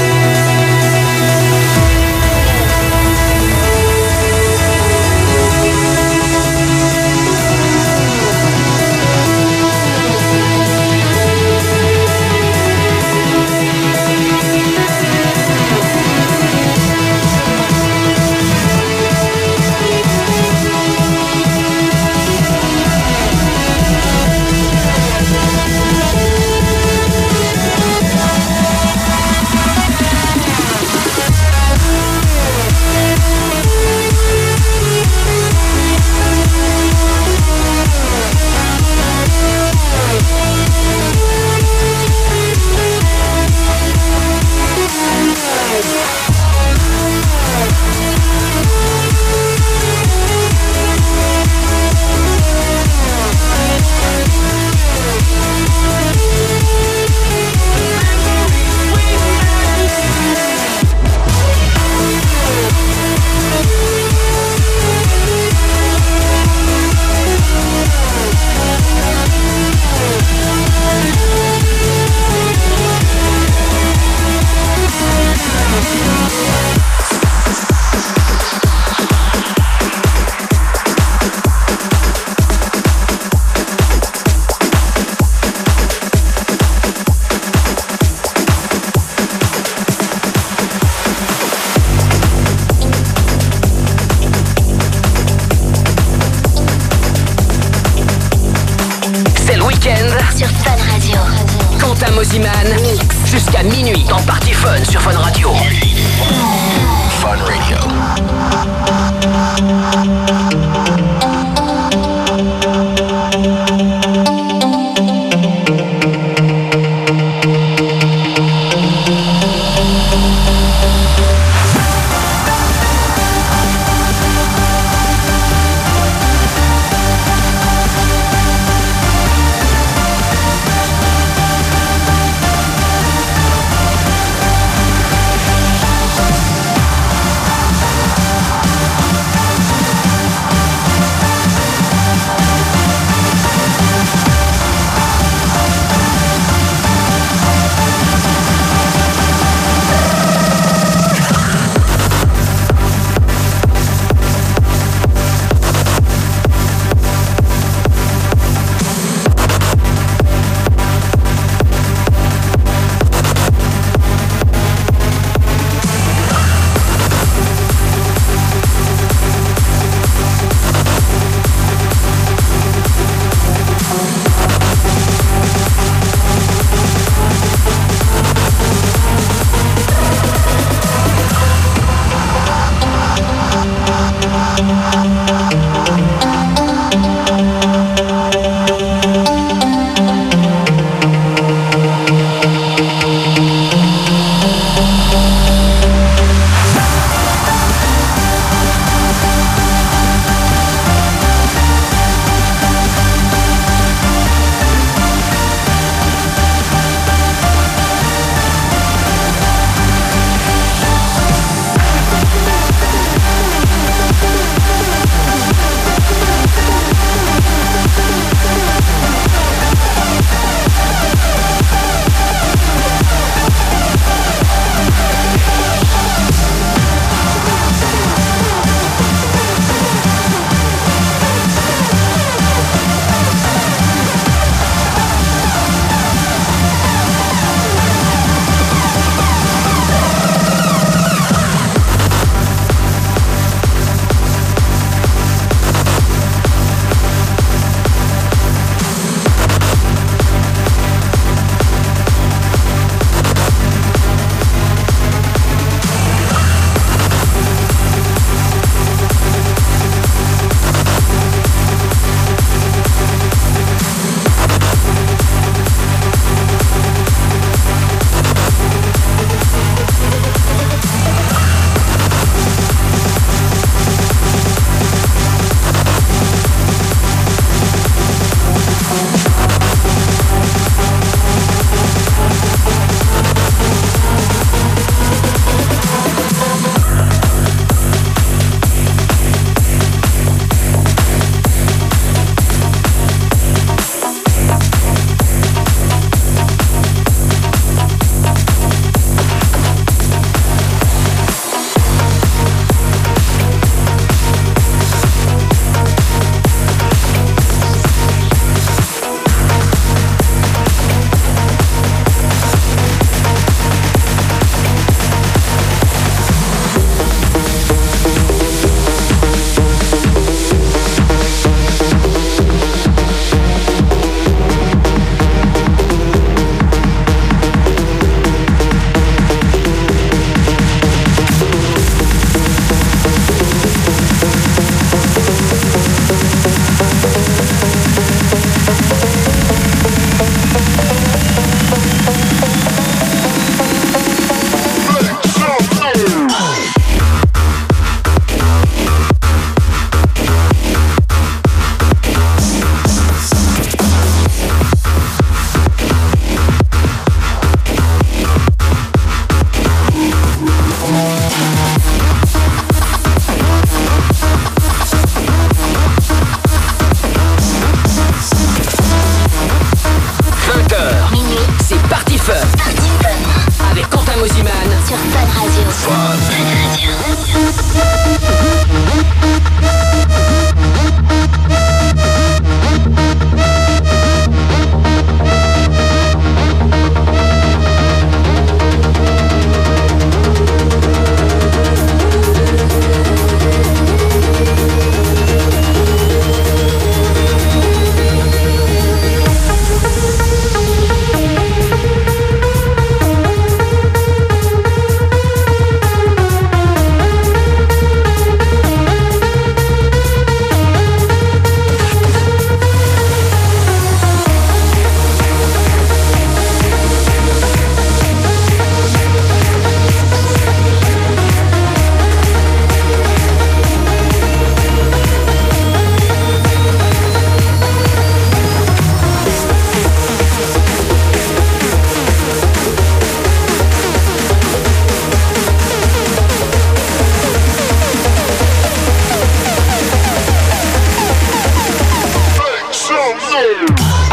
C'est le week-end Sur Fun Radio. Quentin Mosiman jusqu'à minuit dans Party Fun sur Fun Radio. Fun Radio.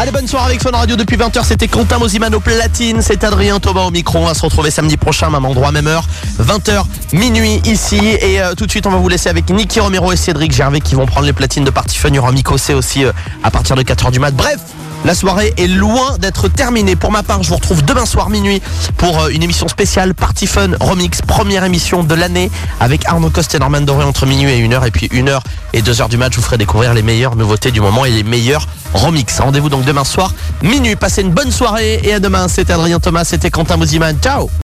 Allez, bonne soirée avec Fun Radio depuis 20h. C'était Quentin Mosiman au platine. C'est Adrien Thomas au micro. On va se retrouver samedi prochain, même endroit, même heure. 20h, minuit ici. Et tout de suite, on va vous laisser avec Nicky Romero et Cédric Gervais qui vont prendre les platines de Party Fun. Il y aura Miko C aussi à partir de 4h du mat. Bref, la soirée est loin d'être terminée. Pour ma part, je vous retrouve demain soir minuit pour une émission spéciale Party Fun Remix, première émission de l'année avec Arnaud Coste et Norman Doré entre minuit et 1h. Et puis 1h et 2h du match, je vous ferai découvrir les meilleures nouveautés du moment et les meilleurs remix. Rendez-vous donc demain soir minuit. Passez une bonne soirée et à demain. C'était Adrien Thomas, c'était Quentin Mosiman. Ciao.